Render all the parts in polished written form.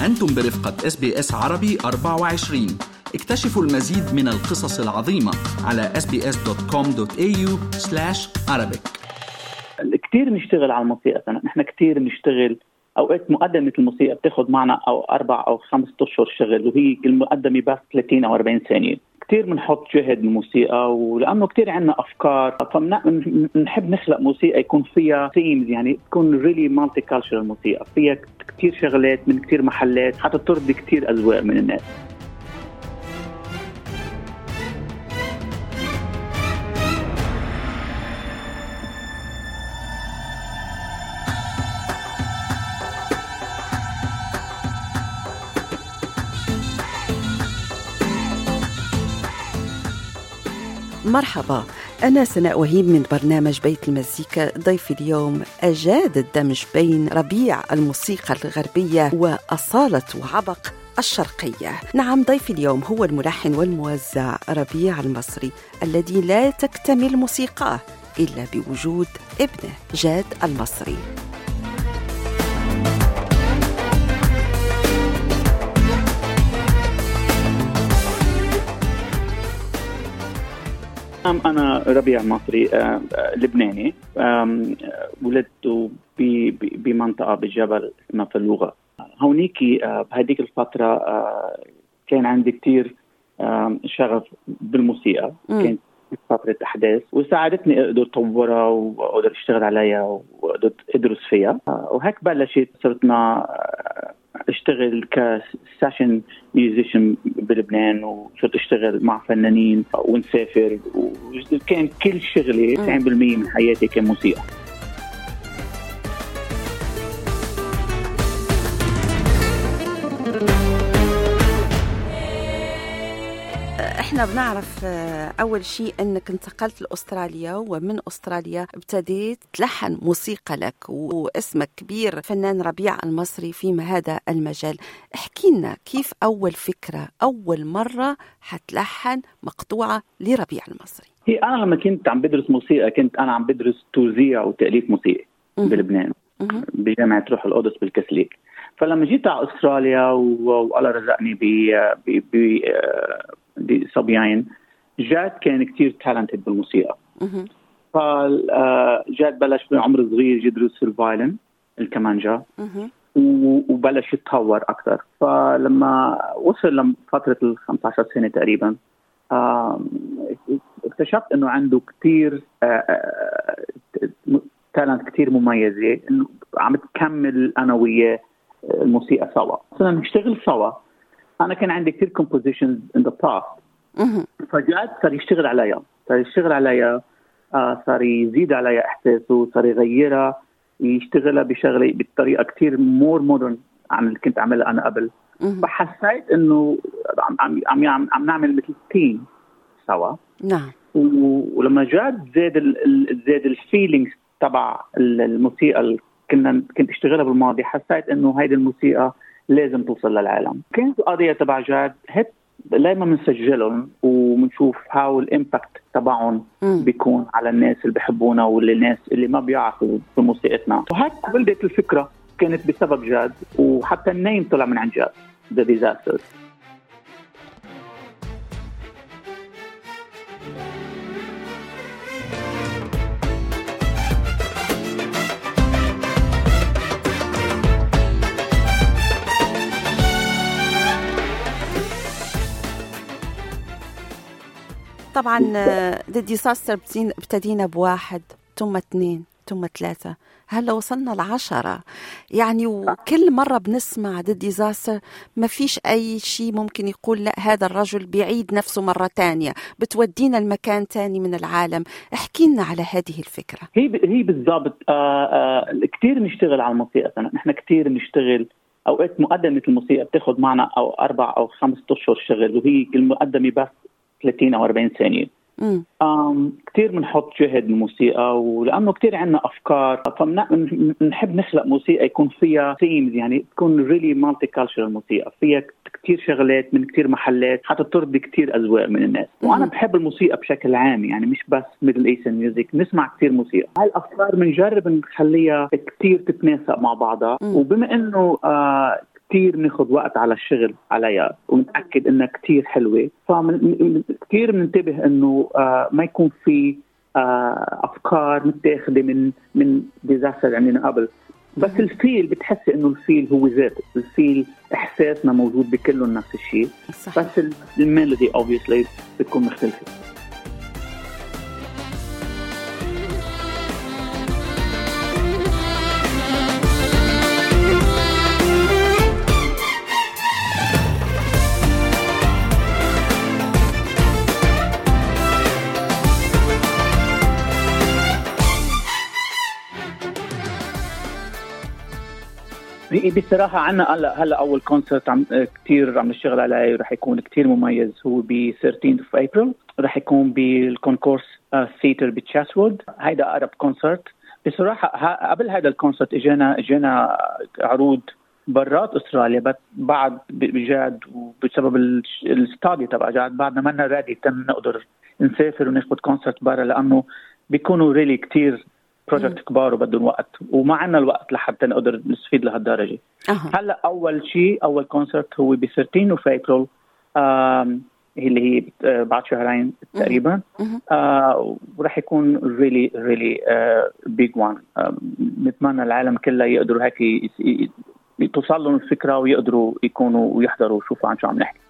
أنتم برفقة SBS عربي 24. اكتشفوا المزيد من القصص العظيمة على sbs.com.au/arabic. كتير نشتغل على الموسيقى. نحن كتير نشتغل. أوقات مقدمة الموسيقى بتاخد معنا أو 4 أو 5 أشهر شغل، وهي المقدمة بس 30 أو 40 ثانية. كتير بنحط جهد بالموسيقى، ولأنه كتير عنا أفكار فنحب نخلق موسيقى يكون فيها themes، يعني تكون really multicultural موسيقى فيها كتير شغلات من كتير محلات حتى ترضي كتير أذواق من الناس. مرحبا، أنا سناء وهيب من برنامج بيت المزيكا. ضيفي اليوم أجاد الدمج بين ربيع الموسيقى الغربية وأصالة وعبق الشرقية. نعم، ضيفي اليوم هو الملحن والموزع ربيع المصري الذي لا تكتمل موسيقاه إلا بوجود ابنه جاد المصري. أنا ربيع مصري لبناني، ولدت بمنطقة بالجبل اسمها فلوغة. هونيكي بهديك الفترة كان عندي كتير شغف بالموسيقى. كانت فترة أحداث وساعدتني أقدر أطورها وأقدر أشتغل عليها وأقدر أدرس فيها، وهيك بلشت صرتنا اشتغل كسيشن ميوزيشن بلبنان، وصرت اشتغل مع فنانين ونسافر، وكان كل شغلي 90% من حياتي كان موسيقى. احنا بنعرف اول شيء انك انتقلت لاستراليا، ومن استراليا ابتديت تلحن موسيقى لك، واسمك كبير فنان ربيع المصري في هذا المجال. احكي لنا كيف اول فكرة، اول مرة حتلحن مقطوعة لربيع المصري؟ هي انا لما كنت عم بدرس موسيقى كنت انا عم بدرس توزيع وتأليف موسيقي بلبنان بجامعة روح القدس بالكاثوليك. فلما جيت على استراليا والله رزقني بصبيين، جاد كان كتير تالنتد بالموسيقى. فجاد بلش بعمر صغير يدرس الفايلن الكمانجا، وبلش يتطور أكثر. فلما وصل لفترة 15 سنة تقريبا اكتشفت إنه عنده كتير تالنت كتير مميزة، إنه عم تكمل أنا وياه الموسيقى سوا. صرنا نشتغل سوا. أنا كان عندي كتير compositions in the past. فجأة صار يشتغل عليها، صار يزيد عليها إحساسه، صار يغيرها، يشتغلها بشغلة بطريقة كتير more modern عن اللي كنت أعملها أنا قبل. فحسيت إنه عم نعمل مثل تيم سوا. نعم. ولما زاد الفيلينغز تبع الموسيقى اللي كنت اشتغلها بالماضي، حسيت إنه هيدي الموسيقى لازم توصل للعالم. كانت القضية تبع جاد هيك دائما بنسجلهم وبنشوف هاو الامباكت تبعهم بيكون على الناس اللي بيحبونا والناس اللي ما بيعرفوا بموسيقتنا. وهيك ولدت الفكرة، كانت بسبب جاد، وحتى النيم طلع من عن جاد The Disasters. طبعا The Disaster ابتدينا ب1 ثم 2 ثم 3، هلا وصلنا ل10 يعني. وكل مرة بنسمع The Disaster ما فيش أي شيء ممكن يقول لا هذا الرجل بيعيد نفسه مرة تانية، بتودينا المكان تاني من العالم. احكي لنا على هذه الفكرة. هي بالضبط. كتير نشتغل على الموسيقى. نحن كتير نشتغل. أوقات مقدمة الموسيقى بتاخد معنا أو 4 أو 5 أشهر شغل، وهي المقدمة بس 30 أو 40 ثانية. كتير بنحط جهد بالموسيقى، ولأنه كتير عنا أفكار فنحب نخلق موسيقى يكون فيها themes، يعني تكون really multicultural موسيقى فيها كتير شغلات من كتير محلات حتى ترضي كتير أذواق من الناس. وأنا بحب الموسيقى بشكل عام، يعني مش بس Middle Eastern music، نسمع كتير موسيقى. هاي الأفكار بنجرب نخليها كتير تتناسق مع بعضها. وبما إنه كتير ناخد وقت على الشغل عليها ونتأكد إنها كتير حلوة. كتير مننتبه إنه ما يكون في أفكار متاخدة من ديزاستر عندنا قبل. بس الفيل بتحسي إنه الفيل هو ذاته، الفيل إحساسنا موجود بكله نفس الشيء، بس الميلودي obviously بتكون مختلفة. بصراحة عنا هلا أول كونسرت كتير عم نشتغل عليه ورح يكون كتير مميز، هو ب 13 of April، رح يكون بالكونكورس ثيتر بتشاسوود. هيدا أقرب كونسرت. بصراحة قبل هذا الكونسرت إجانا عروض برات أستراليا، بعد بجاد وبسبب الستادي تبع جاد بعدنا منا رادي نقدر نسافر وناخد كونسرت برا، لأنه بيكونوا ريلي كتير بروجكت كبار وبدهم وقت، وما عنا الوقت لحتى نقدر نستفيد لهالدرجة. هلا أول كونسرت هو ب 13 of April، اللي هي بعد شهرين تقريبا، ورح يكون really big one. نتمنى العالم كله يقدروا هيك توصل لهم الفكرة ويقدروا يكونوا ويحضروا ويشوفوا عن شو عم نحكي.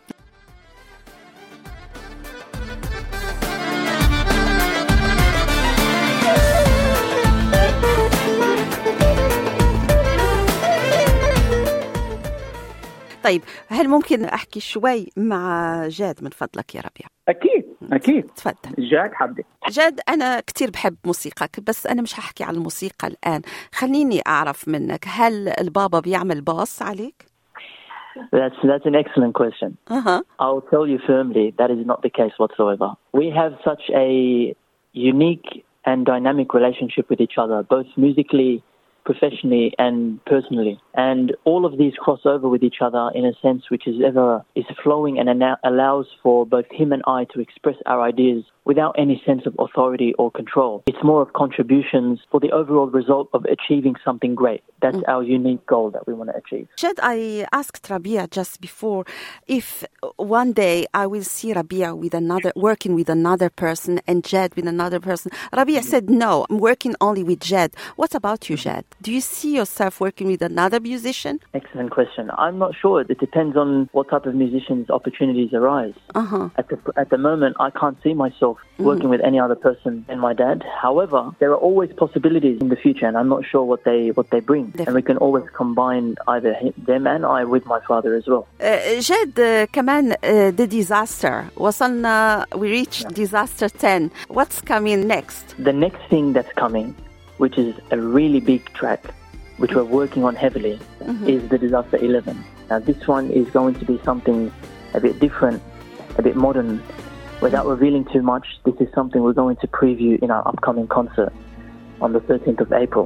طيب، هل ممكن أحكي شوي مع جاد من فضلك يا ربيع؟ أكيد تفضل. جاد حبدي. جاد، أنا كتير بحب موسيقك، بس أنا مش هحكي عن الموسيقى الآن. خليني أعرف منك، هل البابا بيعمل باص عليك؟ That's an excellent question. I'll tell you firmly that is not the case whatsoever. We have such a unique and dynamic relationship with each other, both musically, professionally and personally, and all of these cross over with each other in a sense which is flowing and allows for both him and I to express our ideas without any sense of authority or control. It's more of contributions for the overall result of achieving something great. That's our unique goal that we want to achieve. Jad, I asked Rabia just before if one day I will see Rabia working with another person and Jad with another person. Rabia said, no, I'm working only with Jad. What about you, Jad? Do you see yourself working with another musician? Excellent question. I'm not sure. It depends on what type of musicians opportunities arise. At the moment, I can't see myself working with any other person than my dad. However, there are always possibilities in the future, and I'm not sure what they bring. Definitely. And we can always combine either them and I with my father as well. جاد, كمان the disaster. we reached disaster 10. What's coming next? The next thing that's coming, which is a really big track, which we're working on heavily, is the Disaster 11. Now, this one is going to be something a bit different, a bit modern. Without revealing too much, this is something we're going to preview in our upcoming concert on the 13th of April.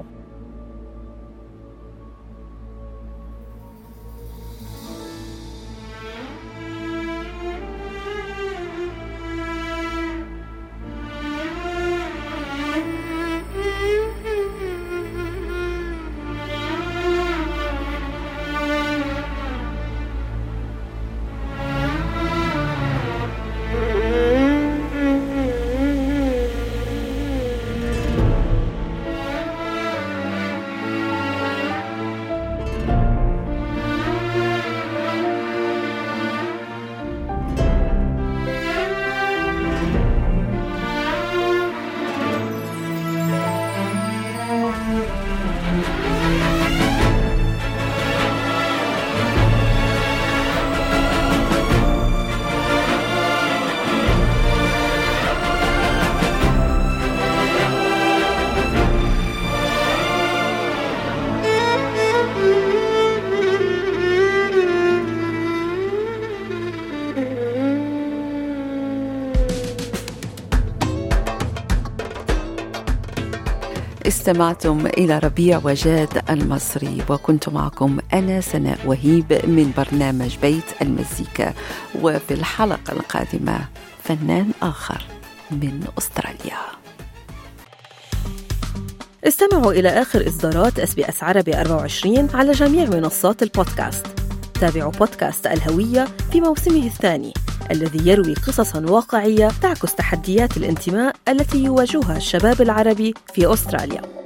استمعتم إلى ربيع وجاد المصري، وكنت معكم أنا سناء وهيب من برنامج بيت المزيكا. وفي الحلقة القادمة فنان آخر من أستراليا. استمعوا إلى آخر إصدارات SBS عربي 24 على جميع منصات البودكاست. تابعوا بودكاست الهوية في موسمه الثاني الذي يروي قصصاً واقعية تعكس تحديات الانتماء التي يواجهها الشباب العربي في أستراليا.